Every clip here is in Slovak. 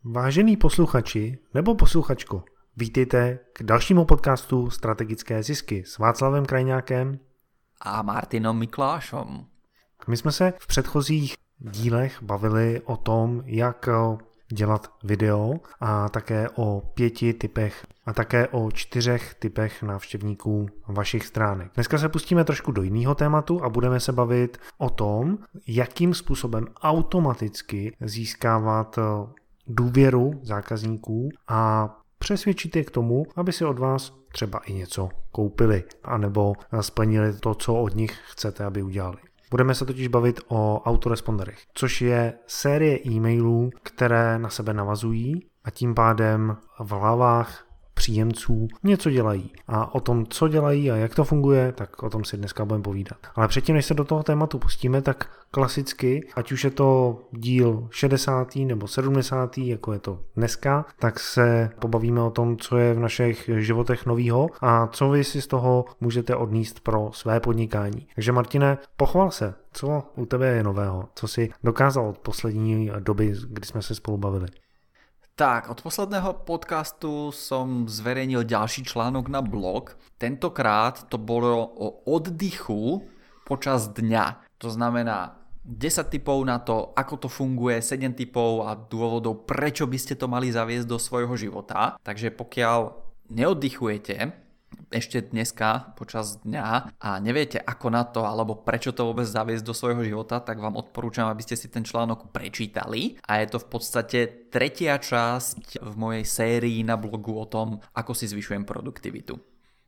Vážení posluchači nebo posluchačko, vítejte k dalšímu podcastu Strategické zisky s Václavem Krajňákem a Martinom Miklášom. My jsme se v předchozích dílech bavili o tom, jak dělat video a také o 5 typech a také o 4 typech návštěvníků vašich stránek. Dneska se pustíme trošku do jiného tématu a budeme se bavit o tom, jakým způsobem automaticky získávat důvěru zákazníků a přesvědčit je k tomu, aby si od vás třeba i něco koupili, anebo splnili to, co od nich chcete, aby udělali. Budeme se totiž bavit o autoresponderech, což je série e-mailů, které na sebe navazují a tím pádem v hlavách příjemců něco dělají. A o tom, co dělají a jak to funguje, tak o tom si dneska budeme povídat. Ale předtím, než se do toho tématu pustíme, tak klasicky, ať už je to díl 60. nebo 70., jako je to dneska, tak se pobavíme o tom, co je v našich životech novýho a co vy si z toho můžete odníst pro své podnikání. Takže Martine, pochval se, co u tebe je nového, co si dokázal od poslední doby, kdy jsme se spolu bavili. Tak, od posledného podcastu som zverejnil ďalší článok na blog. Tentokrát to bolo o oddychu počas dňa. To znamená 10 tipov na to, ako to funguje, 7 tipov a dôvodov, prečo by ste to mali zaviesť do svojho života. Takže pokiaľ neoddychujete ešte dneska počas dňa a neviete ako na to alebo prečo to vôbec zaviesť do svojho života, tak vám odporúčam, aby ste si ten článok prečítali a je to v podstate tretia časť v mojej sérii na blogu o tom, ako si zvyšujem produktivitu.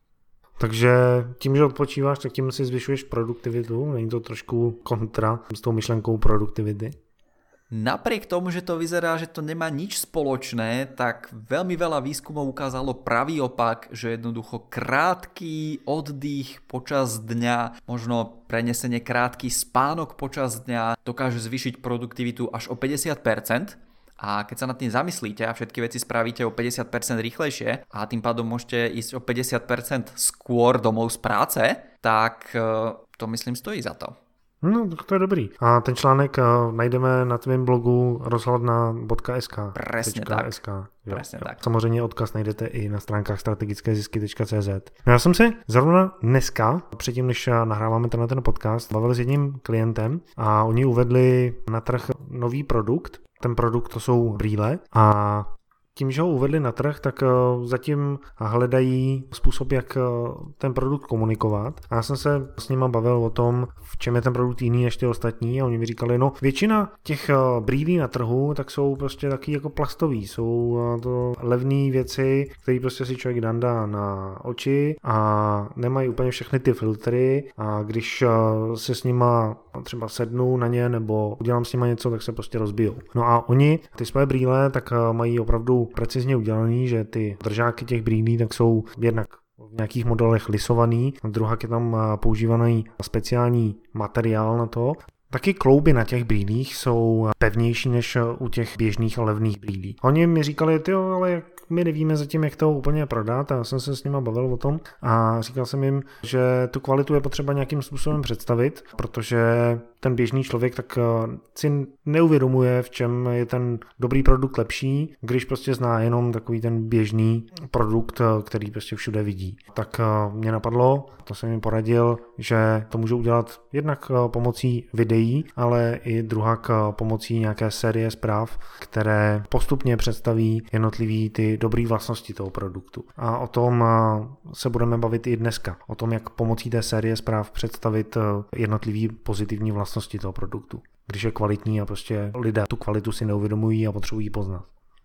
Takže tím, že odpočíváš, tak tím si zvyšuješ produktivitu? Není to trošku kontra s tou myšlenkou produktivity? Napriek tomu, že to vyzerá, že to nemá nič spoločné, tak veľmi veľa výskumov ukázalo pravý opak, že jednoducho krátky oddych počas dňa, možno prenesenie krátky spánok počas dňa dokáže zvýšiť produktivitu až o 50%. A keď sa nad tým zamyslíte a všetky veci spravíte o 50% rýchlejšie a tým pádom môžete ísť o 50% skôr domov z práce, tak to myslím stojí za to. No, to je dobrý. A ten článek najdeme na tvém blogu rozhledna.sk. Presne tak. Presne tak. Samozřejmě odkaz najdete i na stránkách strategickézisky.cz. Já jsem se zrovna dneska, předtím než nahráváme ten podcast, bavil s jedním klientem a oni uvedli na trh nový produkt. Ten produkt to jsou brýle a tím, že ho uvedli na trh, tak zatím hledají způsob, jak ten produkt komunikovat. A já jsem se s nima bavil o tom, v čem je ten produkt jiný než ty ostatní a oni mi říkali, no většina těch brýlí na trhu tak jsou prostě taky jako plastový, jsou to levné věci, které prostě si člověk dá na oči a nemají úplně všechny ty filtry a když se s nima třeba sednu na ně nebo udělám s nima něco, tak se prostě rozbijou. No a oni ty své brýle tak mají opravdu precizně udělaný, že ty držáky těch brýlí tak jsou jednak v nějakých modelech lisovaný, a druhak je tam používaný speciální materiál na to. Taky klouby na těch brýlích jsou pevnější než u těch běžných a levných brýlí. Oni mi říkali, ale my nevíme zatím, jak to úplně prodat a já jsem se s nima bavil o tom a říkal jsem jim, že tu kvalitu je potřeba nějakým způsobem představit, protože ten běžný člověk tak si neuvědomuje, v čem je ten dobrý produkt lepší, když prostě zná jenom takový ten běžný produkt, který prostě všude vidí. Tak mě napadlo, to jsem jim poradil, že to můžu udělat jednak pomocí videí, ale i druhak pomocí nějaké série zpráv, které postupně představí jednotlivý ty dobré vlastnosti toho produktu. A o tom se budeme bavit i dneska. O tom, jak pomocí té série zpráv představit jednotlivý pozitivní vlastnosti toho produktu. Když je kvalitní a prostě lidé tu kvalitu si neuvědomují a potřebují poznat.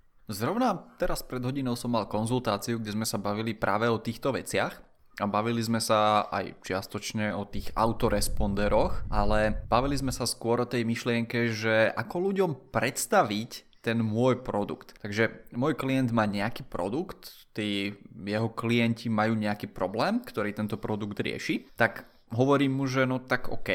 Zrovna teraz pred hodinou som mal konzultáciu, kde sme sa bavili práve o týchto veciach. A bavili sme sa aj čiastočne o tých autoresponderoch, ale bavili sme sa skôr o tej myšlienke, že ako ľuďom predstaviť ten môj produkt. Takže môj klient má nejaký produkt, tí jeho klienti majú nejaký problém, ktorý tento produkt rieši, tak hovorím mu, že no tak OK,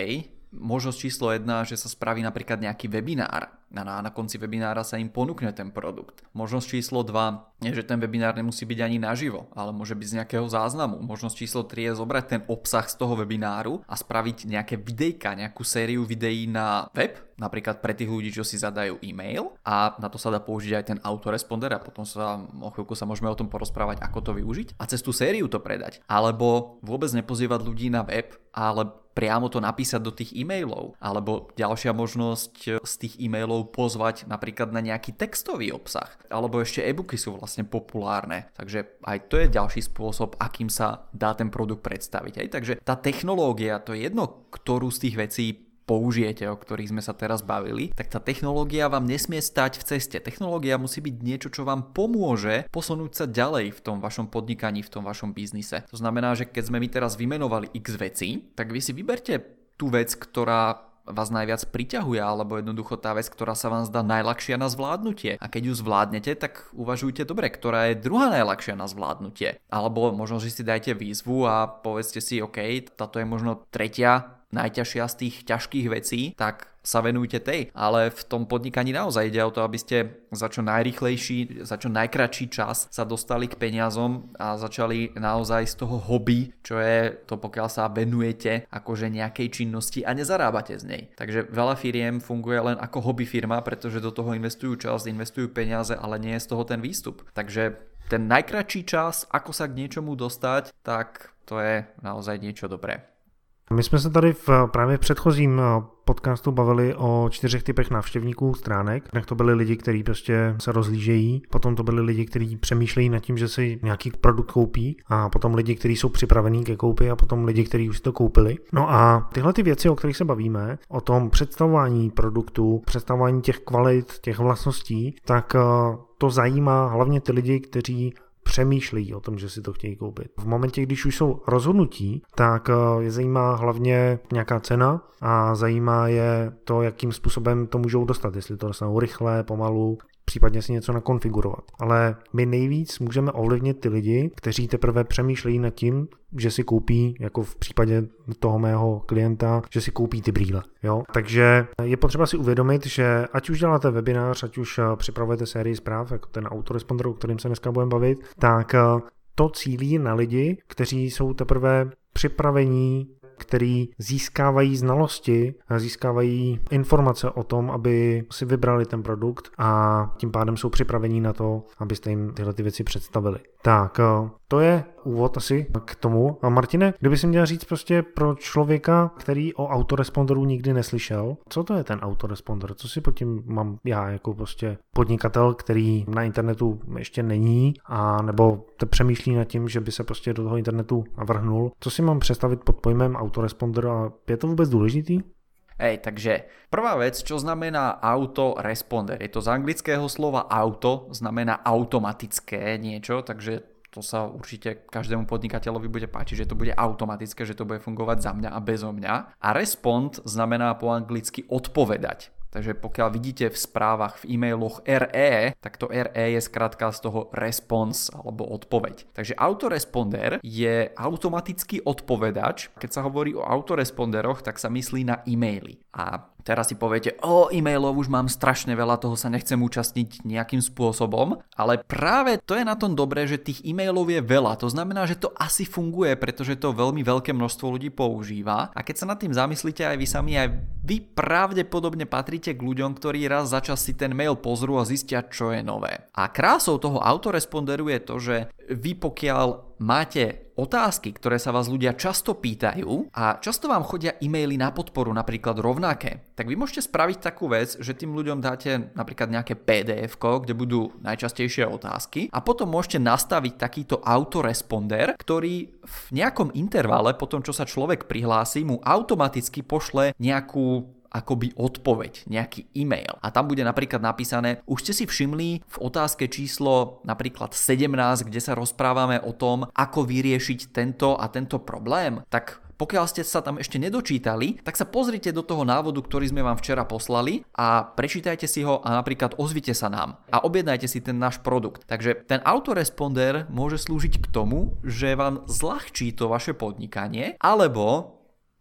Možnosť číslo 1, že sa spraví napríklad nejaký webinár a na konci webinára sa im ponúkne ten produkt. Možnosť číslo 2 je, že ten webinár nemusí byť ani naživo, ale môže byť z nejakého záznamu. Možnosť číslo 3 je zobrať ten obsah z toho webináru a spraviť nejaké videjka, nejakú sériu videí na web, napríklad pre tých ľudí, čo si zadajú e-mail, a na to sa dá použiť aj ten autoresponder a potom sa o chvíľku sa môžeme o tom porozprávať, ako to využiť a cez tú sériu to predať. Alebo vôbec nepozývať ľudí na web, ale priamo to napísať do tých e-mailov. Alebo ďalšia možnosť z tých e-mailov pozvať napríklad na nejaký textový obsah. Alebo ešte e-booky sú vlastne populárne. Takže aj to je ďalší spôsob, akým sa dá ten produkt predstaviť. Takže tá technológia, to je jedno, ktorú z tých vecí použijete, o ktorých sme sa teraz bavili, tak tá technológia vám nesmie stať v ceste. Technológia musí byť niečo, čo vám pomôže posunúť sa ďalej v tom vašom podnikaní, v tom vašom biznise. To znamená, že keď sme my teraz vymenovali x vecí, tak vy si vyberte tú vec, ktorá vás najviac priťahuje, alebo jednoducho tá vec, ktorá sa vám zdá najľahšia na zvládnutie. A keď ju zvládnete, tak uvažujte dobre, ktorá je druhá najľahšia na zvládnutie. Alebo možno, že si dajte výzvu a povedzte si, OK, táto je možno tretia najťažšia z tých ťažkých vecí, tak sa venujte tej. Ale v tom podnikaní naozaj ide o to, aby ste za čo najrýchlejší, za čo najkratší čas sa dostali k peniazom a začali naozaj z toho hobby, čo je to, pokiaľ sa venujete akože nejakej činnosti a nezarábate z nej. Takže veľa firiem funguje len ako hobby firma, pretože do toho investujú čas, investujú peniaze, ale nie je z toho ten výstup. Takže ten najkratší čas, ako sa k niečomu dostať, tak to je naozaj niečo dobré. My jsme se tady právě v předchozím podcastu bavili o 4 typech návštěvníků stránek. Tak to byli lidi, kteří prostě se rozlížejí, potom to byli lidi, kteří přemýšlejí nad tím, že si nějaký produkt koupí, a potom lidi, kteří jsou připravení ke koupi, a potom lidi, kteří už si to koupili. No a tyhle ty věci, o kterých se bavíme, o tom představování produktu, představování těch kvalit, těch vlastností, tak to zajímá hlavně ty lidi, kteří přemýšlejí o tom, že si to chtějí koupit. V momentě, když už jsou rozhodnutí, tak je zajímá hlavně nějaká cena a zajímá je to, jakým způsobem to můžou dostat, jestli to dostanou rychle, pomalu, případně si něco nakonfigurovat. Ale my nejvíc můžeme ovlivnit ty lidi, kteří teprve přemýšlejí nad tím, že si koupí, jako v případě toho mého klienta, že si koupí ty brýle. Jo? Takže je potřeba si uvědomit, že ať už děláte webinář, ať už připravujete sérii zpráv, jako ten autoresponder, o kterým se dneska budeme bavit, tak to cílí na lidi, kteří jsou teprve připravení, který získávají znalosti, získávají informace o tom, aby si vybrali ten produkt, a tím pádem jsou připravení na to, abyste jim tyhle ty věci představili. Tak, to je úvod asi k tomu. A Martine, kdyby si měl říct prostě pro člověka, který o autoresponderu nikdy neslyšel, co to je ten autoresponder? Co si pod tím mám já jako prostě podnikatel, který na internetu ještě není, a nebo te přemýšlí nad tím, že by se prostě do toho internetu vrhnul. Co si mám představit pod pojmem autoresponder a je to vůbec důležitý? Takže prvá vec, čo znamená autoresponder? Je to z anglického slova auto, znamená automatické niečo, takže to sa určite každému podnikateľovi bude páčiť, že to bude automatické, že to bude fungovať za mňa a bezo mňa. A respond znamená po anglicky odpovedať. Takže pokiaľ vidíte v správach, v e-mailoch RE, tak to RE je skrátka z toho response alebo odpoveď. Takže autoresponder je automatický odpovedač. Keď sa hovorí o autoresponderoch, tak sa myslí na e-maily. A teraz si poviete, e-mailov už mám strašne veľa, toho sa nechcem účastniť nejakým spôsobom, ale práve to je na tom dobré, že tých e-mailov je veľa. To znamená, že to asi funguje, pretože to veľmi veľké množstvo ľudí používa. A keď sa nad tým zamyslíte aj vy sami, aj vy pravdepodobne patríte k ľuďom, ktorí raz za čas si ten mail pozrú a zistia, čo je nové. A krásou toho autoresponderu je to, že vy pokiaľ máte otázky, ktoré sa vás ľudia často pýtajú a často vám chodia e-maily na podporu, napríklad rovnaké, tak vy môžete spraviť takú vec, že tým ľuďom dáte napríklad nejaké PDF-ko, kde budú najčastejšie otázky, a potom môžete nastaviť takýto autoresponder, ktorý v nejakom intervale, po tom čo sa človek prihlási, mu automaticky pošle nejakú akoby odpoveď, nejaký e-mail. A tam bude napríklad napísané, už ste si všimli v otázke číslo napríklad 17, kde sa rozprávame o tom, ako vyriešiť tento a tento problém, tak pokiaľ ste sa tam ešte nedočítali, tak sa pozrite do toho návodu, ktorý sme vám včera poslali, a prečítajte si ho a napríklad ozvite sa nám a objednajte si ten náš produkt. Takže ten autoresponder môže slúžiť k tomu, že vám zľahčí to vaše podnikanie, alebo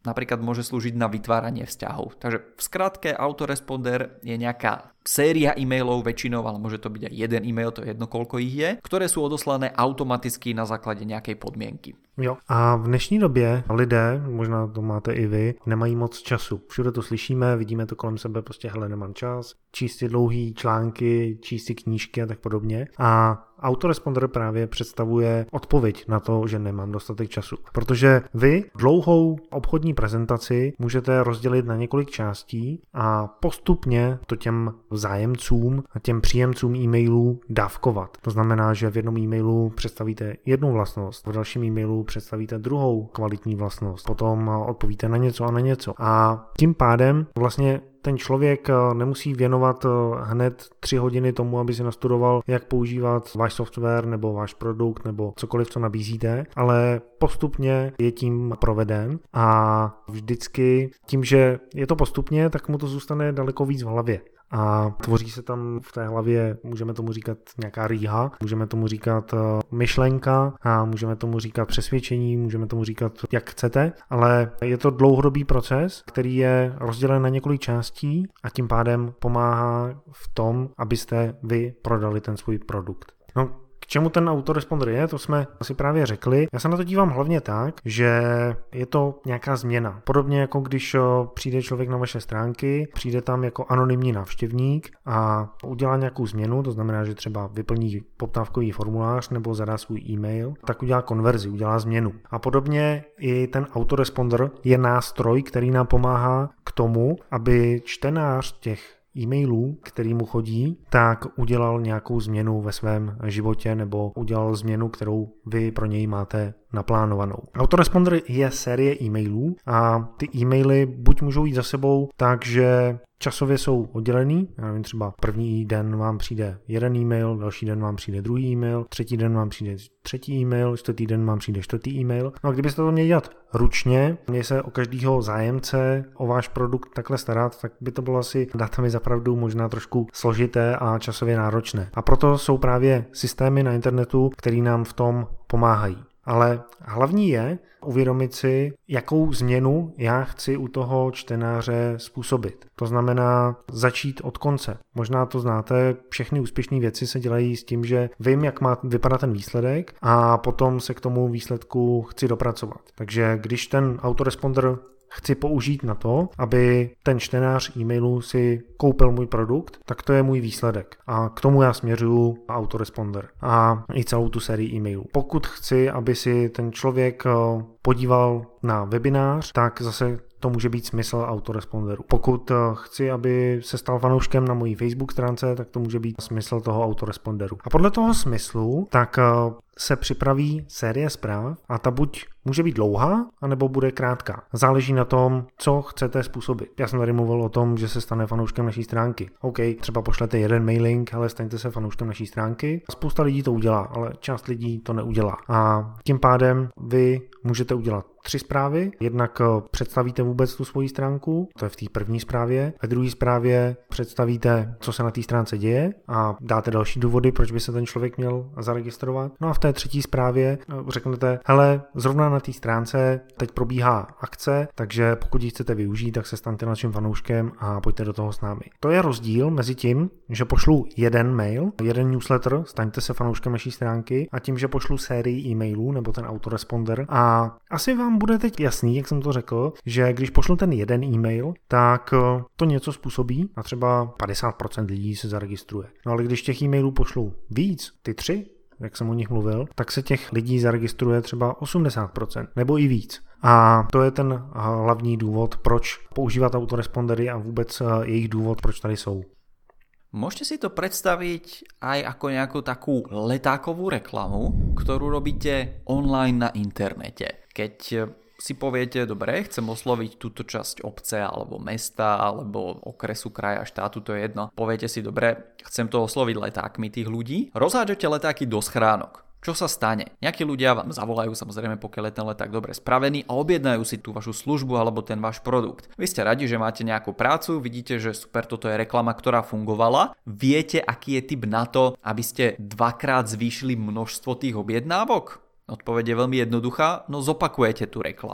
napríklad môže slúžiť na vytváranie vzťahov. Takže v skratke autoresponder je nejaká séria e-mailov väčšinou, ale môže to byť aj jeden e-mail, to je jedno koľko ich je, ktoré sú odoslané automaticky na základe nejakej podmienky. Jo. A v dnešní době lidé, možná to máte i vy, nemají moc času. Všude to slyšíme, vidíme to kolem sebe, prostě hele, nemám čas, číst si dlouhý články, číst si knížky a tak podobně. A autoresponder právě představuje odpověď na to, že nemám dostatek času. Protože vy dlouhou obchodní prezentaci můžete rozdělit na několik částí a postupně to těm zájemcům a těm příjemcům e-mailů dávkovat. To znamená, že v jednom e-mailu představíte jednu vlastnost, v dalším e-mailu představíte druhou kvalitní vlastnost, potom odpovíte na něco a na něco. A tím pádem vlastně ten člověk nemusí věnovat hned 3 hodiny tomu, aby si nastudoval, jak používat váš software nebo váš produkt nebo cokoliv, co nabízíte, ale postupně je tím proveden a vždycky tím, že je to postupně, tak mu to zůstane daleko víc v hlavě. A tvoří se tam v té hlavě, můžeme tomu říkat nějaká rýha, můžeme tomu říkat myšlenka a můžeme tomu říkat přesvědčení, můžeme tomu říkat jak chcete, ale je to dlouhodobý proces, který je rozdělen na několik částí a tím pádem pomáhá v tom, abyste vy prodali ten svůj produkt. No, k čemu ten autoresponder je, to jsme si právě řekli. Já se na to dívám hlavně tak, že je to nějaká změna. Podobně jako když přijde člověk na vaše stránky, přijde tam jako anonymní návštěvník a udělá nějakou změnu, to znamená, že třeba vyplní poptávkový formulář nebo zadá svůj e-mail, tak udělá konverzi, udělá změnu. A podobně i ten autoresponder je nástroj, který nám pomáhá k tomu, aby čtenář těch e-mailů, který mu chodí, tak udělal nějakou změnu ve svém životě nebo udělal změnu, kterou vy pro něj máte naplánovanou. Autoresponder je série e-mailů a ty e-maily buď můžou jít za sebou tak, že časově jsou oddělený, já nevím, třeba první den vám přijde jeden e-mail, další den vám přijde druhý e-mail, třetí den vám přijde třetí e-mail, čtvrtý den vám přijde čtvrtý e-mail. No a kdybyste to měli dělat ručně, měli se o každého zájemce o váš produkt takhle starat, tak by to bylo asi, dáte mi za pravdu, možná trošku složité a časově náročné. A proto jsou právě systémy na internetu, které nám v tom pomáhají. Ale hlavní je uvědomit si, jakou změnu já chci u toho čtenáře způsobit. To znamená začít od konce. Možná to znáte, všechny úspěšné věci se dělají s tím, že vím, jak má vypadat ten výsledek a potom se k tomu výsledku chci dopracovat. Takže když ten autoresponder chci použít na to, aby ten čtenář e-mailu si koupil můj produkt, tak to je můj výsledek. A k tomu já směřuju autoresponder a i celou tu sérii e-mailů. Pokud chci, aby si ten člověk podíval na webinář, tak zase to může být smysl autoresponderu. Pokud chci, aby se stal fanouškem na mojí Facebook stránce, tak to může být smysl toho autoresponderu. A podle toho smyslu tak se připraví série zpráv a ta buď může být dlouhá, anebo bude krátká. Záleží na tom, co chcete způsobit. Já jsem tady mluvil o tom, že se stane fanouškem naší stránky. OK, třeba pošlete jeden mailing, ale staňte se fanouškem naší stránky. Spousta lidí to udělá, ale část lidí to neudělá. A tím pádem vy můžete udělat 3 zprávy. Jednak představíte vůbec tu svoji stránku, to je v té první zprávě. Ve druhé zprávě představíte, co se na té stránce děje a dáte další důvody, proč by se ten člověk měl zaregistrovat. No a v té třetí zprávě řeknete, hele, zrovna na té stránce teď probíhá akce, takže pokud ji chcete využít, tak se staňte naším fanouškem a pojďte do toho s námi. To je rozdíl mezi tím, že pošlu jeden mail, jeden newsletter, staňte se fanouškem naší stránky, a tím, že pošlu sérii e-mailů nebo ten autoresponder. A asi vám bude teď jasný, jak jsem to řekl, že když pošlu ten jeden e-mail, tak to něco způsobí a třeba 50% lidí se zaregistruje. No ale když těch e-mailů pošlu víc, ty 3, jak jsem o nich mluvil, tak se těch lidí zaregistruje třeba 80% nebo i víc. A to je ten hlavní důvod, proč používat autorespondery a vůbec jejich důvod, proč tady jsou. Môžete si to predstaviť aj ako nejakú takú letákovú reklamu, ktorú robíte online na internete. Keď si poviete, dobre, chcem osloviť túto časť obce alebo mesta alebo okresu, kraja, štátu, to je jedno. Poviete si, dobre, chcem to osloviť letákmi tých ľudí. Rozhádžete letáky do schránok. Čo sa stane? Nejakí ľudia vám zavolajú, samozrejme, pokiaľ je ten leták dobre spravený, a objednajú si tú vašu službu alebo ten váš produkt. Vy ste radi, že máte nejakú prácu, vidíte, že super, toto je reklama, ktorá fungovala. Viete, aký je tip na to, aby ste dvakrát zvýšili množstvo tých objednávok? Odpoveď je veľmi jednoduchá, no zopakujete tú reklamu.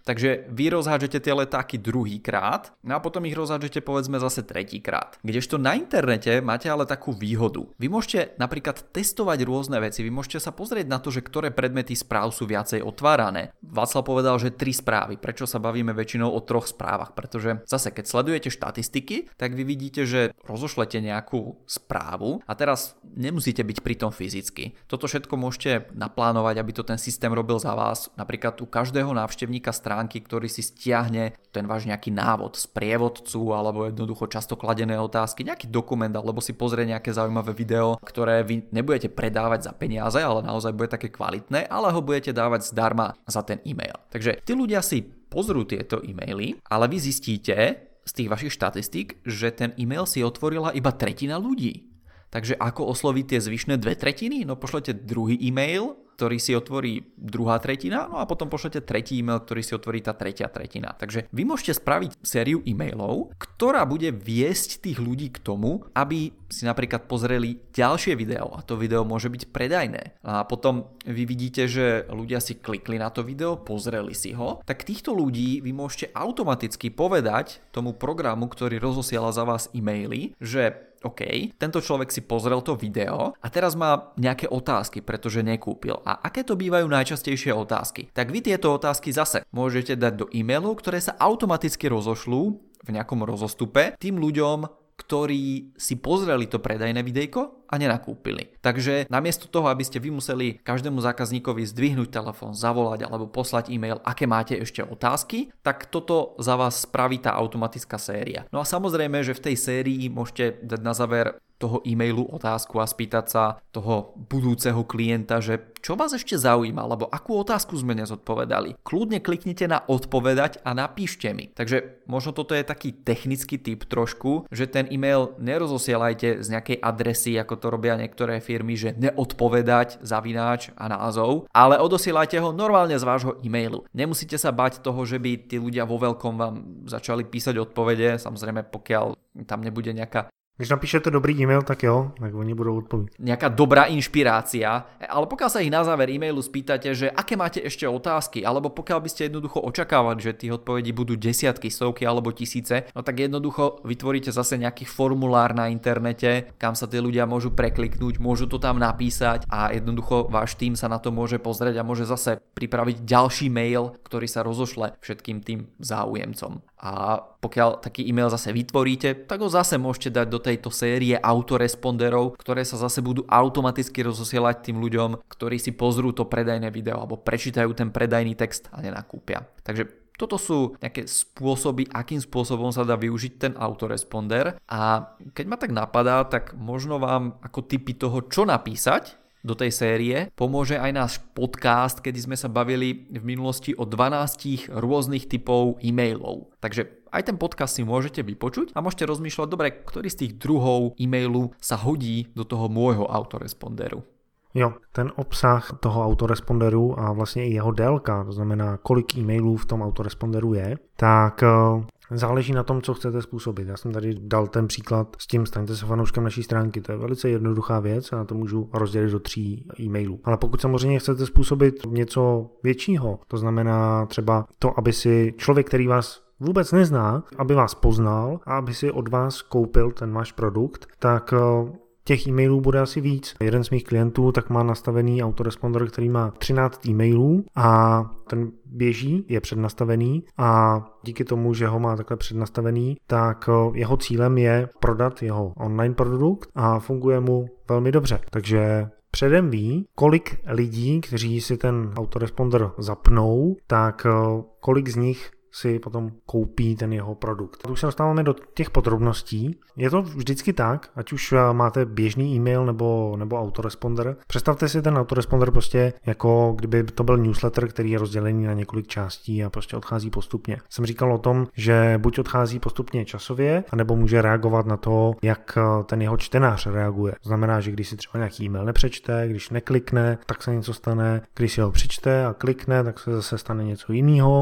Takže vy rozhádžete tie letáky druhýkrát a potom ich rozhádžete povedzme zase tretíkrát. Kdežto na internete máte ale takú výhodu. Vy môžete napríklad testovať rôzne veci, vy môžete sa pozrieť na to, že ktoré predmety správ sú viacej otvárané. Václav povedal, že 3 správy. Prečo sa bavíme väčšinou o 3 správach? Pretože zase, keď sledujete štatistiky, tak vy vidíte, že rozošlete nejakú správu a teraz nemusíte byť pri tom fyzicky. Toto všetko môžete naplánovať, aby to ten systém robil za vás. Napríklad u každého návštevníka stránky, ktorý si stiahne ten váš nejaký návod z prievodcu alebo jednoducho často kladené otázky, nejaký dokument alebo si pozrie nejaké zaujímavé video, ktoré vy nebudete predávať za peniaze, ale naozaj bude také kvalitné, ale ho budete dávať zdarma za ten e-mail. Takže tí ľudia si pozrú tieto e-maily, ale vy zistíte z tých vašich štatistík, že ten e-mail si otvorila iba 1/3 ľudí. Takže ako osloviť tie zvyšné 2/3? No pošlete druhý e-mail, ktorý si otvorí 2/3, no a potom pošlete tretí e-mail, ktorý si otvorí tá 3/3. Takže vy môžete spraviť sériu e-mailov, ktorá bude viesť tých ľudí k tomu, aby si napríklad pozreli ďalšie video a to video môže byť predajné. A potom vy vidíte, že ľudia si klikli na to video, pozreli si ho, tak týchto ľudí vy môžete automaticky povedať tomu programu, ktorý rozosiela za vás e-maily, že OK, tento človek si pozrel to video a teraz má nejaké otázky, pretože nekúpil. A aké to bývajú najčastejšie otázky? Tak vy tieto otázky zase môžete dať do e-mailov, ktoré sa automaticky rozošľú v nejakom rozostupe tým ľuďom, ktorí si pozreli to predajné videjko a nenakúpili. Takže namiesto toho, aby ste vy museli každému zákazníkovi zdvihnúť telefón, zavolať alebo poslať e-mail, aké máte ešte otázky, tak toto za vás spraví tá automatická séria. No a samozrejme, že v tej sérii môžete dať na záver toho e-mailu otázku a spýtať sa toho budúceho klienta, že čo vás ešte zaujíma, alebo akú otázku sme nezodpovedali. Kľudne kliknite na odpovedať a napíšte mi. Takže možno toto je taký technický tip trošku, že ten e-mail nerozosielajte z nejakej adresy, ako to robia niektoré firmy, že neodpovedať, zavináč a názov, ale odosielajte ho normálne z vášho e-mailu. Nemusíte sa bať toho, že by tí ľudia vo veľkom vám začali písať odpovede, samozrejme pokiaľ tam nebude nejaká Když napíšete dobrý e-mail, tak jo, tak oni budú odpovedať. Nejaká dobrá inšpirácia, ale pokiaľ sa ich na záver e-mailu spýtate, že aké máte ešte otázky, alebo pokiaľ by ste jednoducho očakávali, že tých odpovedí budú desiatky, stovky alebo tisíce, no tak jednoducho vytvoríte zase nejaký formulár na internete, kam sa tí ľudia môžu prekliknúť, môžu to tam napísať a jednoducho váš tím sa na to môže pozrieť a môže zase pripraviť ďalší mail, ktorý sa rozošle všetkým tým záujemcom. A pokiaľ taký e-mail zase vytvoríte, tak ho zase môžete dať do tejto série autoresponderov, ktoré sa zase budú automaticky rozosielať tým ľuďom, ktorí si pozrú to predajné video alebo prečítajú ten predajný text a nenakúpia. Takže toto sú nejaké spôsoby, akým spôsobom sa dá využiť ten autoresponder a keď ma tak napadá, tak možno vám ako tipy toho, čo napísať do tej série pomôže aj náš podcast, kedy sme sa bavili v minulosti o 12 rôznych typov e-mailov. Takže aj ten podcast si môžete vypočuť a môžete rozmýšľať, dobre, ktorý z tých druhov e-mailu sa hodí do toho môjho autoresponderu. Jo, ten obsah toho autoresponderu a vlastně i jeho délka, to znamená, kolik e-mailů v tom autoresponderu je, tak záleží na tom, co chcete způsobit. Já jsem tady dal ten příklad s tím, staňte se fanouškem naší stránky. To je velice jednoduchá věc a to můžu rozdělit do 3 e-mailů. Ale pokud samozřejmě chcete způsobit něco většího, to znamená třeba to, aby si člověk, který vás vůbec nezná, aby vás poznal a aby si od vás koupil ten váš produkt, tak těch e-mailů bude asi víc. Jeden z mých klientů tak má nastavený autoresponder, který má 13 e-mailů a ten běží, je přednastavený a díky tomu, že ho má takhle přednastavený, tak jeho cílem je prodat jeho online produkt a funguje mu velmi dobře. Takže předem ví, kolik lidí, kteří si ten autoresponder zapnou, tak kolik z nich si potom koupí ten jeho produkt. Už se dostáváme do těch podrobností. Je to vždycky tak, ať už máte běžný e-mail nebo autoresponder. Představte si ten autoresponder prostě jako kdyby to byl newsletter, který je rozdělený na několik částí a prostě odchází postupně. Jsem říkal o tom, že buď odchází postupně časově, anebo může reagovat na to, jak ten jeho čtenář reaguje. To znamená, že když si třeba nějaký e-mail nepřečte, když neklikne, tak se něco stane, když si ho přečte a klikne, tak se zase stane něco jiného.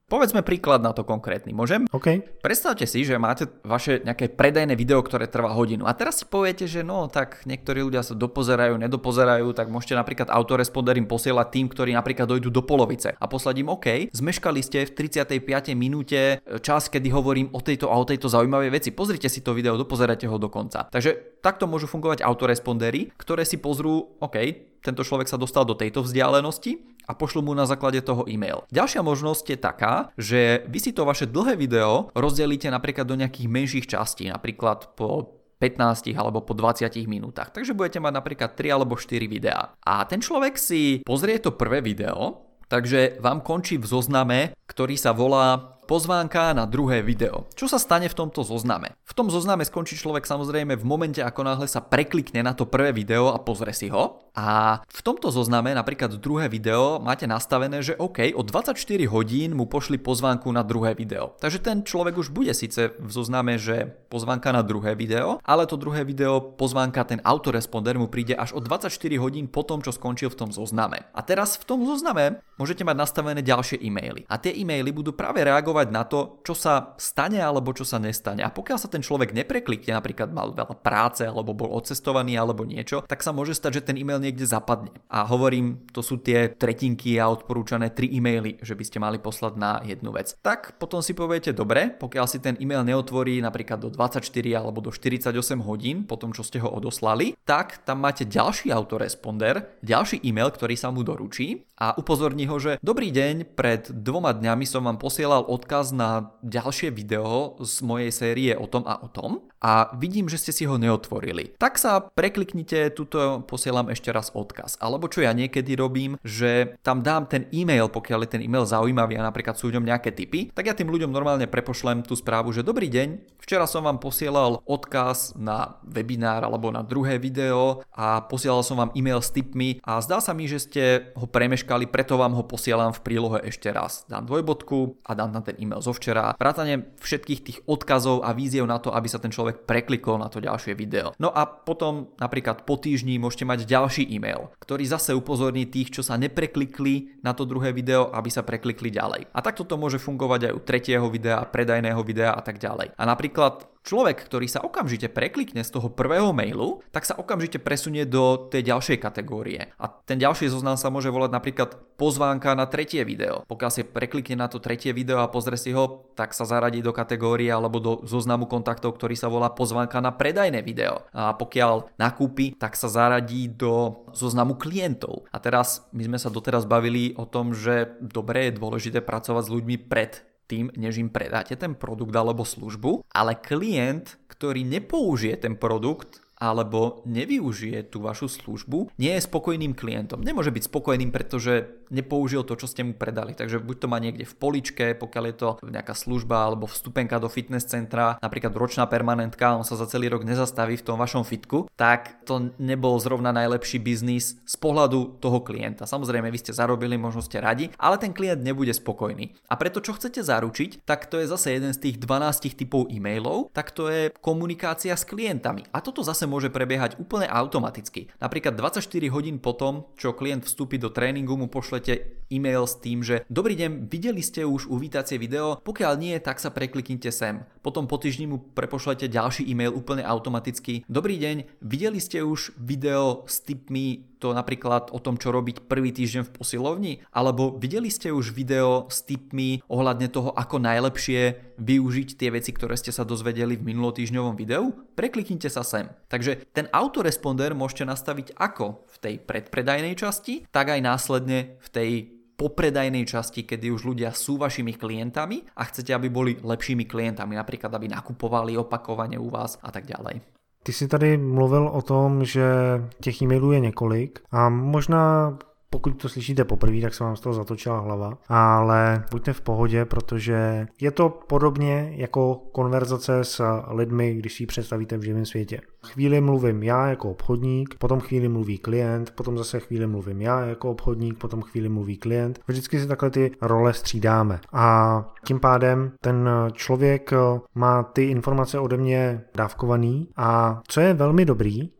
Povedzme príklad na to konkrétny, môžem? OK. Predstavte si, že máte vaše nejaké predajné video, ktoré trvá hodinu. A teraz si poviete, že no, tak niektorí ľudia sa dopozerajú, nedopozerajú, tak môžete napríklad autoresponder im posielať tým, ktorí napríklad dojdú do polovice a poslať im OK, zmeškali ste v 35. minúte čas, kedy hovorím o tejto a o tejto zaujímavej veci. Pozrite si to video, dopozerajte ho do konca. Takže takto môžu fungovať autorespondery, ktoré si pozrú, OK, tento človek sa dostal do tejto vzdialenosti a pošlu mu na základe toho e-mail. Ďalšia možnosť je taká, že vy si to vaše dlhé video rozdelíte napríklad do nejakých menších častí, napríklad po 15 alebo po 20 minútach. Takže budete mať napríklad 3 alebo 4 videá. A ten človek si pozrie to prvé video, takže vám končí v zozname, ktorý sa volá pozvánka na druhé video. Čo sa stane v tomto zozname? V tom zozname skončí človek samozrejme v momente, ako náhle sa preklikne na to prvé video a pozrie si ho. A v tomto zozname, napríklad druhé video, máte nastavené, že OK, o 24 hodín mu pošli pozvánku na druhé video. Takže ten človek už bude síce v zozname, že pozvánka na druhé video, ale to druhé video, pozvánka, ten autoresponder mu príde až o 24 hodín po tom, čo skončil v tom zozname. A teraz v tom zozname môžete mať nastavené ďalšie e-maily. A tie e-maily budú práve reagovať na to, čo sa stane alebo čo sa nestane. A pokiaľ sa ten človek nepreklikne, napríklad mal veľa práce alebo bol odcestovaný alebo niečo, tak sa môže stať, že ten e-mail niekde zapadne. A hovorím, to sú tie tretinky a odporúčané 3 e-maily, že by ste mali poslať na jednu vec. Tak potom si poviete, dobre, pokiaľ si ten e-mail neotvorí napríklad do 24 alebo do 48 hodín po tom, čo ste ho odoslali, tak tam máte ďalší autoresponder, ďalší e-mail, ktorý sa mu doručí a upozorní ho, že dobrý deň, pred 2 dňami som vám posielal odkaz na ďalšie video z mojej série o tom a o tom a vidím, že ste si ho neotvorili. Tak sa prekliknite, tuto posielam ešte raz odkaz. Alebo čo ja niekedy robím, že tam dám ten e-mail, pokiaľ je ten e-mail zaujímavý a napríklad sú v ňom nejaké tipy, tak ja tým ľuďom normálne prepošlem tú správu, že dobrý deň, včera som vám posielal odkaz na webinár alebo na druhé video a posielal som vám e-mail s tipmi a zdá sa mi, že ste ho premeškali, preto vám ho posielam v prílohe ešte raz. Dám dvojbodku a dám na ten e-mail zo včera. Vrátane všetkých tých odkazov a víziev na to, aby sa ten človek preklikol na to ďalšie video. No a potom napríklad po týždni môžete mať ďalší e-mail, ktorý zase upozorní tých, čo sa nepreklikli na to druhé video, aby sa preklikli ďalej. A takto to môže fungovať aj u tretieho videa, predajného videa a tak ďalej. A napríklad človek, ktorý sa okamžite preklikne z toho prvého mailu, tak sa okamžite presunie do tej ďalšej kategórie. A ten ďalší zoznam sa môže volať napríklad pozvánka na tretie video. Pokiaľ si preklikne na to tretie video a pozrie si ho, tak sa zaradí do kategórie alebo do zoznamu kontaktov, ktorý sa volá pozvánka na predajné video. A pokiaľ nakúpi, tak sa zaradí do zoznamu klientov. A teraz my sme sa doteraz bavili o tom, že dobre je dôležité pracovať s ľuďmi pred tým, než im predáte ten produkt alebo službu, ale klient, ktorý nepoužije ten produkt alebo nevyužije tú vašu službu, nie je spokojným klientom. Nemôže byť spokojným, pretože nepoužil to, čo ste mu predali. Takže buď to má niekde v poličke, pokiaľ je to nejaká služba alebo vstupenka do fitness centra, napríklad ročná permanentka, on sa za celý rok nezastaví v tom vašom fitku, tak to nebol zrovna najlepší biznis z pohľadu toho klienta. Samozrejme, vy ste zarobili, možno ste radi, ale ten klient nebude spokojný. A preto, čo chcete zaručiť, tak to je zase jeden z tých 12 typov e-mailov, tak to je komunikácia s klientami. A toto zase môže prebiehať úplne automaticky. Napríklad 24 hodín potom, čo klient vstúpi do tréningu, mu pošlete e-mail s tým, že dobrý deň, videli ste už uvítacie video, pokiaľ nie, tak sa prekliknite sem. Potom po týždni mu prepošlete ďalší e-mail úplne automaticky. Dobrý deň, videli ste už video s tipmi, to napríklad o tom, čo robiť prvý týždeň v posilovni, alebo videli ste už video s tipmi ohľadne toho, ako najlepšie využiť tie veci, ktoré ste sa dozvedeli v minulotýždňovom videu? Prekliknite sa sem. Takže ten autoresponder môžete nastaviť ako v tej predpredajnej časti, tak aj následne v tej popredajnej časti, kedy už ľudia sú vašimi klientami a chcete, aby boli lepšími klientami, napríklad aby nakupovali opakovane u vás a tak ďalej. Ty jsi tady mluvil o tom, že těch e-mailů je několik a možná pokud to slyšíte poprvé, tak se vám z toho zatočila hlava, ale buďte v pohodě, protože je to podobně jako konverzace s lidmi, když si ji představíte v živém světě. Chvíli mluvím já jako obchodník, potom chvíli mluví klient, potom zase chvíli mluvím já jako obchodník, potom chvíli mluví klient. Vždycky si takhle ty role střídáme a tím pádem ten člověk má ty informace ode mě dávkovaný a co je velmi dobrý,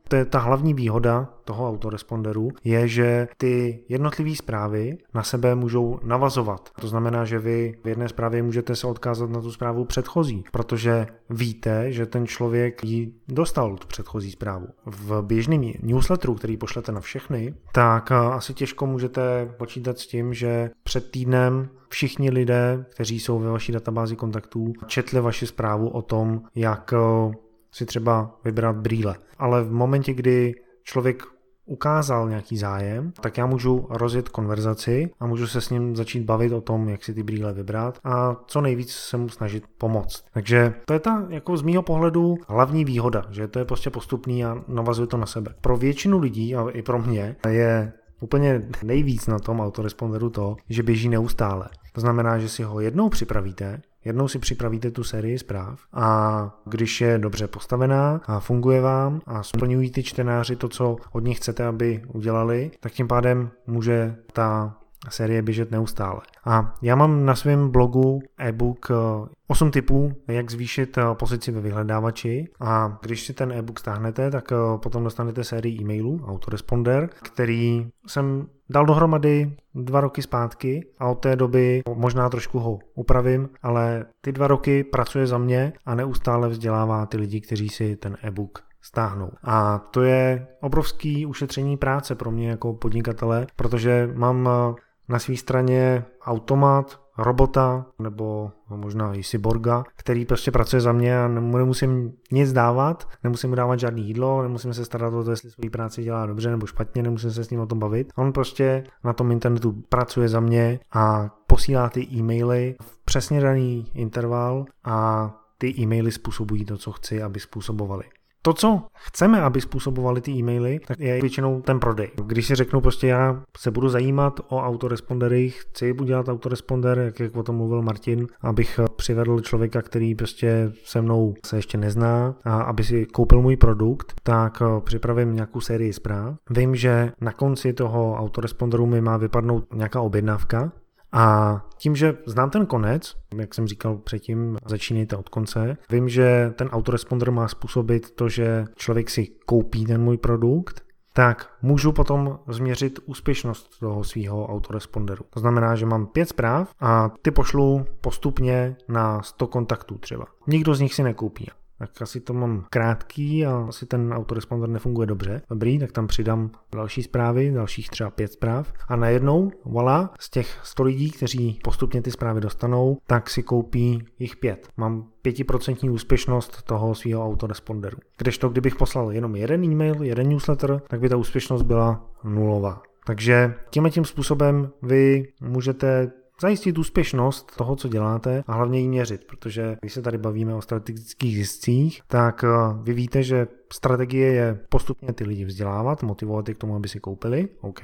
To je ta hlavní výhoda toho autoresponderu, je, že ty jednotlivé zprávy na sebe můžou navazovat. To znamená, že vy v jedné zprávě můžete se odkázat na tu zprávu předchozí, protože víte, že ten člověk ji dostal, tu předchozí zprávu. V běžném newsletteru, který pošlete na všechny, tak asi těžko můžete počítat s tím, že před týdnem všichni lidé, kteří jsou ve vaší databázi kontaktů, četli vaši zprávu o tom, jak si třeba vybrat brýle. Ale v momentě, kdy člověk ukázal nějaký zájem, tak já můžu rozjet konverzaci a můžu se s ním začít bavit o tom, jak si ty brýle vybrat a co nejvíc se mu snažit pomoct. Takže to je ta jako z mýho pohledu hlavní výhoda, že to je prostě postupný a navazuje to na sebe. Pro většinu lidí a i pro mě je úplně nejvíc na tom autoresponderu to, že běží neustále. To znamená, že si ho jednou si připravíte tu sérii zpráv a když je dobře postavená a funguje vám a splňují ty čtenáři to, co od nich chcete, aby udělali, tak tím pádem může ta série běžet neustále. A já mám na svém blogu e-book 8 tipů, jak zvýšit pozici ve vyhledávači a když si ten e-book stáhnete, tak potom dostanete sérii e-mailů, autoresponder, který jsem dal dohromady 2 roky zpátky a od té doby možná trošku ho upravím, ale ty 2 roky pracuje za mě a neustále vzdělává ty lidi, kteří si ten e-book stáhnou. A to je obrovský ušetření práce pro mě jako podnikatele, protože mám na své straně automat, robota nebo možná i cyborga, který prostě pracuje za mě a nemusím nic dávat, nemusím mu dávat žádný jídlo, nemusím se starat o to, jestli svou práci dělá dobře nebo špatně, nemusím se s ním o tom bavit. On prostě na tom internetu pracuje za mě a posílá ty e-maily v přesně daný interval a ty e-maily způsobují to, co chci, aby způsobovali. To, co chceme, aby způsobovali ty e-maily, tak je většinou ten prodej. Když si řeknu prostě já se budu zajímat o autorespondery, chci udělat autoresponder, jak o tom mluvil Martin, abych přivedl člověka, který prostě se mnou se ještě nezná a aby si koupil můj produkt, tak připravím nějakou sérii zpráv. Vím, že na konci toho autoresponderu mi má vypadnout nějaká objednávka, a tím, že znám ten konec, jak jsem říkal předtím, začínejte od konce, vím, že ten autoresponder má způsobit to, že člověk si koupí ten můj produkt, tak můžu potom změřit úspěšnost toho svého autoresponderu. To znamená, že mám 5 zpráv a ty pošlu postupně na 100 kontaktů třeba. Nikdo z nich si nekoupí. Tak asi to mám krátký a asi ten autoresponder nefunguje dobře. Dobrý, tak tam přidám další zprávy, dalších třeba 5 zpráv a najednou, voilà, z těch 100 lidí, kteří postupně ty zprávy dostanou, tak si koupí jich 5. Mám 5% úspěšnost toho svého autoresponderu. Kdežto, kdybych poslal jenom jeden e-mail, jeden newsletter, tak by ta úspěšnost byla nulová. Takže tím způsobem vy můžete zajistit úspěšnost toho, co děláte a hlavně ji měřit, protože když se tady bavíme o strategických ziscích, tak vy víte, že strategie je postupně ty lidi vzdělávat, motivovat je k tomu, aby si koupili, OK.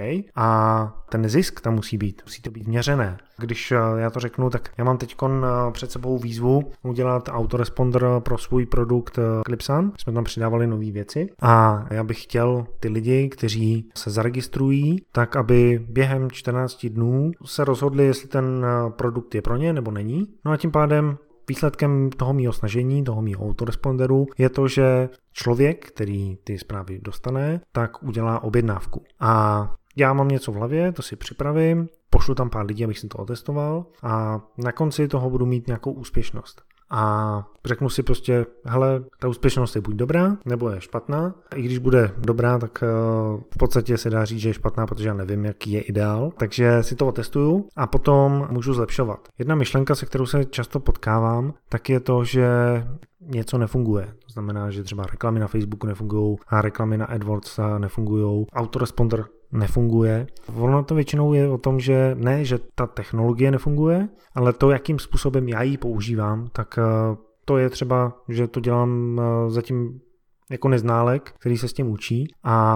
A ten zisk tam musí to být měřené. Když já to řeknu, tak já mám teď před sebou výzvu udělat autoresponder pro svůj produkt Clipsan. Jsme tam přidávali nové věci a já bych chtěl ty lidi, kteří se zaregistrují, tak aby během 14 dnů se rozhodli, jestli ten produkt je pro ně nebo není. No a tím pádem výsledkem toho mýho snažení, toho mýho autoresponderu je to, že člověk, který ty zprávy dostane, tak udělá objednávku. A já mám něco v hlavě, to si připravím, pošlu tam pár lidí, abych si to otestoval a na konci toho budu mít nějakou úspěšnost. A řeknu si prostě, hele, ta úspěšnost je buď dobrá, nebo je špatná. I když bude dobrá, tak v podstatě se dá říct, že je špatná, protože já nevím, jaký je ideál. Takže si to otestuju a potom můžu zlepšovat. Jedna myšlenka, se kterou se často potkávám, tak je to, že něco nefunguje. To znamená, že třeba reklamy na Facebooku nefungují a reklamy na AdWords nefungují. Autoresponder nefunguje. Ono to většinou je o tom, že ne, že ta technologie nefunguje, ale to, jakým způsobem já ji používám, tak to je třeba, že to dělám zatím jako neználek, který se s tím učí a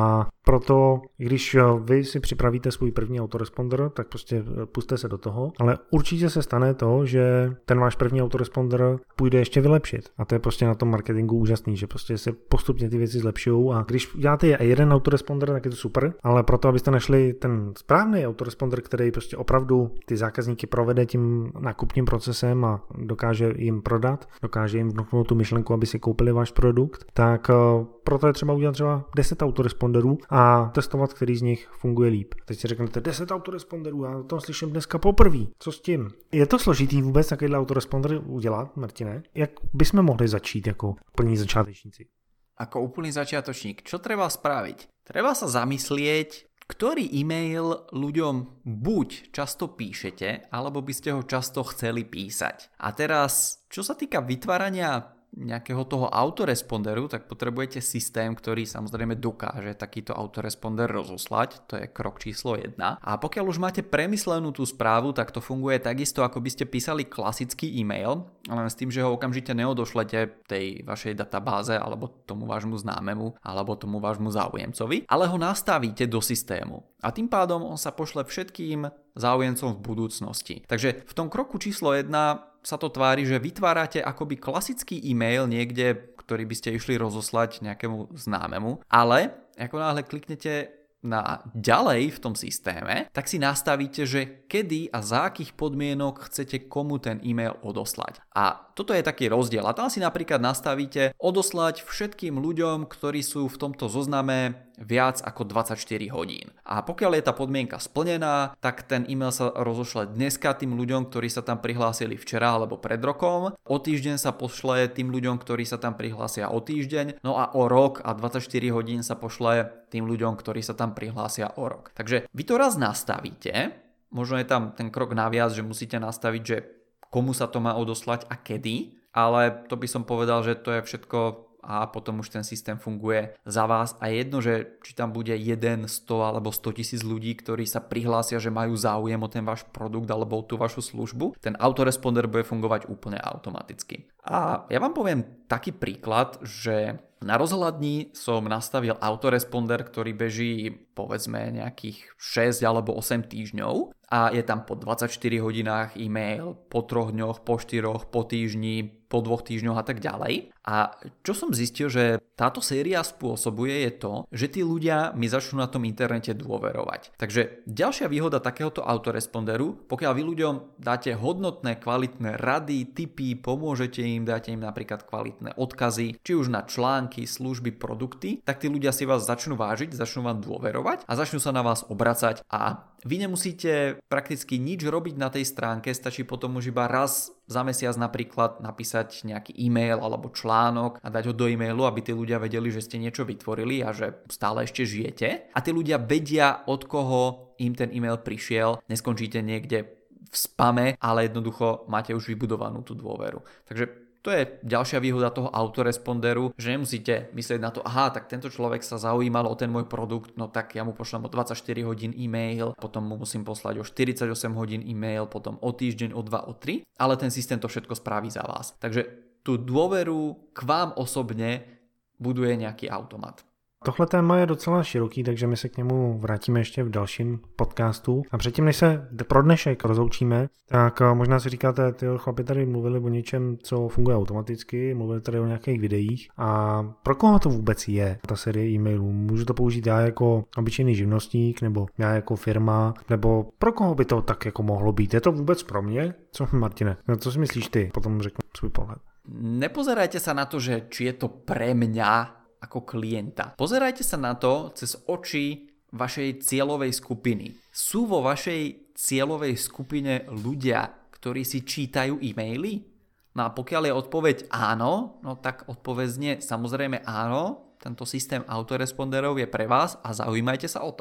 proto, když vy si připravíte svůj první autoresponder, tak prostě puste se do toho, ale určitě se stane to, že ten váš první autoresponder půjde ještě vylepšit. A to je prostě na tom marketingu úžasný, že prostě se postupně ty věci zlepšují a když děláte jeden autoresponder, tak je to super, ale proto, abyste našli ten správný autoresponder, který prostě opravdu ty zákazníky provede tím nákupním procesem a dokáže jim prodat, dokáže jim vnuknout tu myšlenku, aby si koupili váš produkt, tak proto je třeba udělat třeba 10 autoresponderů a testovat, který z nich funguje líp. Teď si řeknete 10 autoresponderů, já o tom slyším dneska poprvé. Co s tím? Je to složitý vůbec takovýhle autoresponder udělat, Martine? Jak bychom mohli začít jako plní začátečníci? Ako úplný začiatočník, čo treba spraviť? Treba sa zamyslieť, ktorý e-mail ľuďom buď často píšete, alebo by ste ho často chceli písať. A teraz, čo sa týka vytvárania nejakého toho autoresponderu, tak potrebujete systém, ktorý samozrejme dokáže takýto autoresponder rozoslať, to je krok číslo 1. A pokiaľ už máte premyslenú tú správu, tak to funguje takisto, ako by ste písali klasický e-mail, len s tým, že ho okamžite neodošlete tej vašej databáze, alebo tomu vášmu známemu, alebo tomu vášmu záujemcovi, ale ho nastavíte do systému. A tým pádom on sa pošle všetkým záujemcom v budúcnosti. Takže v tom kroku číslo 1 sa to tvári, že vytvárate akoby klasický e-mail niekde, ktorý by ste išli rozoslať nejakému známemu, ale ako náhle kliknete na ďalej v tom systéme, tak si nastavíte, že kedy a za akých podmienok chcete komu ten e-mail odoslať. A toto je taký rozdiel. A tam si napríklad nastavíte odoslať všetkým ľuďom, ktorí sú v tomto zozname viac ako 24 hodín. A pokiaľ je tá podmienka splnená, tak ten e-mail sa rozošle dneska tým ľuďom, ktorí sa tam prihlásili včera alebo pred rokom. O týždeň sa pošle tým ľuďom, ktorí sa tam prihlásia o týždeň. No a o rok a 24 hodín sa pošle tým ľuďom, ktorí sa tam prihlásia o rok. Takže vy to raz nastavíte, možno je tam ten krok naviac, že musíte nastaviť, že komu sa to má odoslať a kedy, ale to by som povedal, že to je všetko a potom už ten systém funguje za vás a jedno, že či tam bude 1, 100 alebo 100 000 ľudí, ktorí sa prihlásia, že majú záujem o ten váš produkt alebo o tú vašu službu, ten autoresponder bude fungovať úplne automaticky. A ja vám poviem taký príklad, že na rozhľadni som nastavil autoresponder, ktorý beží povedzme nejakých 6 alebo 8 týždňov a je tam po 24 hodinách e-mail, po 3 dňoch, po 4, po týždni, po 2 týždňoch a tak ďalej. A čo som zistil, že táto séria spôsobuje je to, že tí ľudia mi začnú na tom internete dôverovať. Takže ďalšia výhoda takéhoto autoresponderu, pokiaľ vy ľuďom dáte hodnotné, kvalitné rady, tipy, pomôžete im, dáte im napríklad kvalitné odkazy, či už na články, služby, produkty, tak tí ľudia si vás začnú vážiť, začnú vám dôverovať a začnú sa na vás obracať a vy nemusíte prakticky nič robiť na tej stránke, stačí potom už iba raz za mesiac napríklad napísať nejaký e-mail alebo článok a dať ho do e-mailu, aby tí ľudia vedeli, že ste niečo vytvorili a že stále ešte žijete. A tí ľudia vedia, od koho im ten e-mail prišiel, neskončíte niekde v spame, ale jednoducho máte už vybudovanú tú dôveru. Takže to je ďalšia výhoda toho autoresponderu, že nemusíte myslieť na to, aha, tak tento človek sa zaujímal o ten môj produkt, no tak ja mu pošlem o 24 hodín e-mail, potom mu musím poslať o 48 hodín e-mail, potom o týždeň, o 2, o 3, ale ten systém to všetko spraví za vás. Takže tú dôveru k vám osobne buduje nejaký automat. Tohle téma je docela široký, takže my se k němu vrátíme ještě v dalším podcastu. A předtím, než se pro dnešek rozloučíme, tak možná si říkáte, ty chlapi tady mluvili o něčem, co funguje automaticky, mluvili tady o nějakých videích. A pro koho to vůbec je, ta série e-mailů? Můžu to použít já jako obyčejný živnostník, nebo já jako firma, nebo pro koho by to tak jako mohlo být? Je to vůbec pro mě? Co, Martine? No, co si myslíš ty? Potom řeknu svůj pohled. Nepozerajte sa na to, že či je to pre mňa ako klienta. Pozerajte sa na to cez oči vašej cieľovej skupiny. Sú vo vašej cieľovej skupine ľudia, ktorí si čítajú e-maily? No a pokiaľ je odpoveď áno, no tak odpoveď znie samozrejme áno, tento systém autoresponderov je pre vás a zaujímajte sa o to.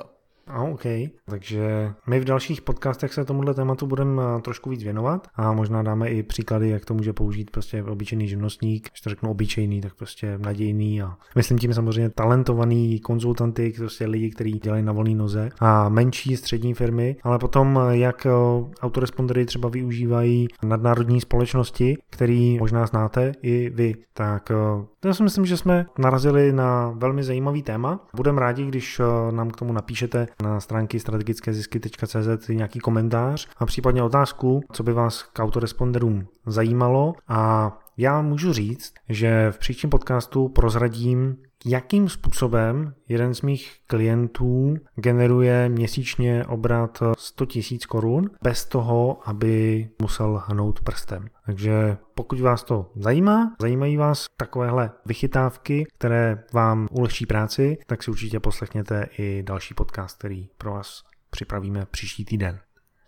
OK. Takže my v dalších podcastech se tomuhle tématu budeme trošku víc věnovat a možná dáme i příklady, jak to může použít prostě obyčejný živnostník. Když to řeknu obyčejný, tak prostě nadějný a myslím tím samozřejmě talentovaný konzultanty, prostě lidi, kteří dělají na volné noze a menší střední firmy, ale potom jak autorespondery třeba využívají nadnárodní společnosti, který možná znáte i vy. Tak já si myslím, že jsme narazili na velmi zajímavý téma. Budeme rádi, když nám k tomu napíšete na stránky strategickézisky.cz nějaký komentář a případně otázku, co by vás k autoresponderům zajímalo. A já můžu říct, že v příštím podcastu prozradím, jakým způsobem jeden z mých klientů generuje měsíčně obrat 100 000 korun bez toho, aby musel hnout prstem. Takže pokud vás to zajímají vás takovéhle vychytávky, které vám ulehčí práci, tak si určitě poslechněte i další podcast, který pro vás připravíme příští týden.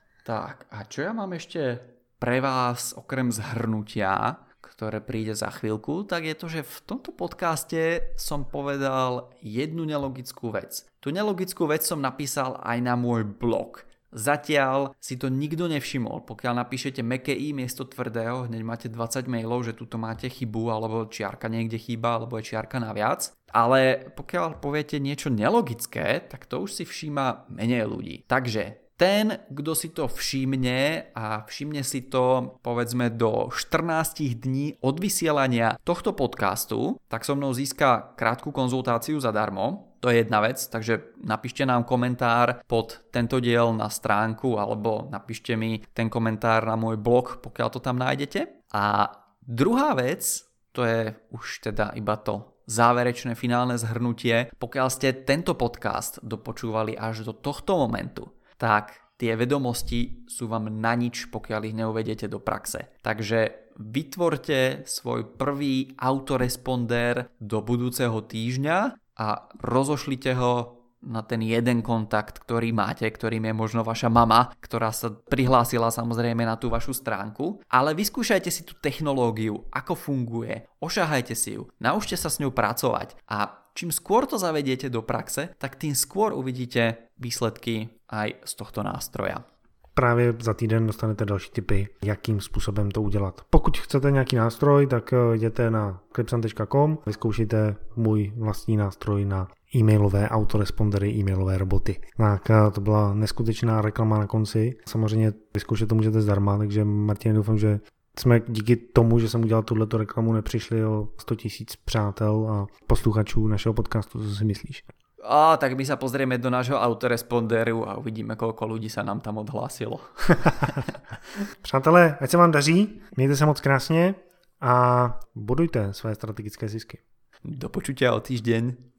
Tak a čo ja mám ešte pre vás okrem zhrnutia, ktoré príde za chvíľku, tak je to, že v tomto podcaste som povedal jednu nelogickú vec. Tu nelogickú vec som napísal aj na môj blog. Zatiaľ si to nikto nevšimol. Pokiaľ napíšete mäkké i miesto tvrdého, hneď máte 20 mailov, že tuto máte chybu, alebo čiarka niekde chýba, alebo je čiarka naviac. Ale pokiaľ poviete niečo nelogické, tak to už si všíma menej ľudí. Takže ten, kto si to všimne a všimne si to povedzme do 14 dní od vysielania tohto podcastu, tak so mnou získa krátku konzultáciu zadarmo. To je jedna vec, takže napíšte nám komentár pod tento diel na stránku alebo napíšte mi ten komentár na môj blog, pokiaľ to tam nájdete. A druhá vec, to je už teda iba to záverečné finálne zhrnutie. Pokiaľ ste tento podcast dopočúvali až do tohto momentu, tak tie vedomosti sú vám na nič, pokiaľ ich neuvediete do praxe. Takže vytvorte svoj prvý autoresponder do budúceho týždňa a rozošlite ho na ten jeden kontakt, ktorý máte, ktorým je možno vaša mama, ktorá sa prihlásila samozrejme na tú vašu stránku. Ale vyskúšajte si tú technológiu, ako funguje, ošahajte si ju, naučte sa s ňou pracovať a čím skôr to zavediete do praxe, tak tým skôr uvidíte výsledky aj z tohto nástroja. Právě za týden dostanete další tipy, jakým způsobem to udělat. Pokud chcete nějaký nástroj, tak jděte na clipsan.com, vyzkoušejte můj vlastní nástroj na e-mailové autorespondery, e-mailové roboty. Tak to byla neskutečná reklama na konci. Samozřejmě vyzkoušet to můžete zdarma, takže Martin, doufám, že jsme díky tomu, že jsem udělal tuhleto reklamu, nepřišli o 100 000 přátel a posluchačů našeho podcastu. Co si myslíš? Tak my sa pozrieme do nášho autoresponderu a uvidíme, koľko ľudí sa nám tam odhlásilo. Přátelé, ať se vám daří, mějte se moc krásně a budujte své strategické zisky. Do počutia o týždeň.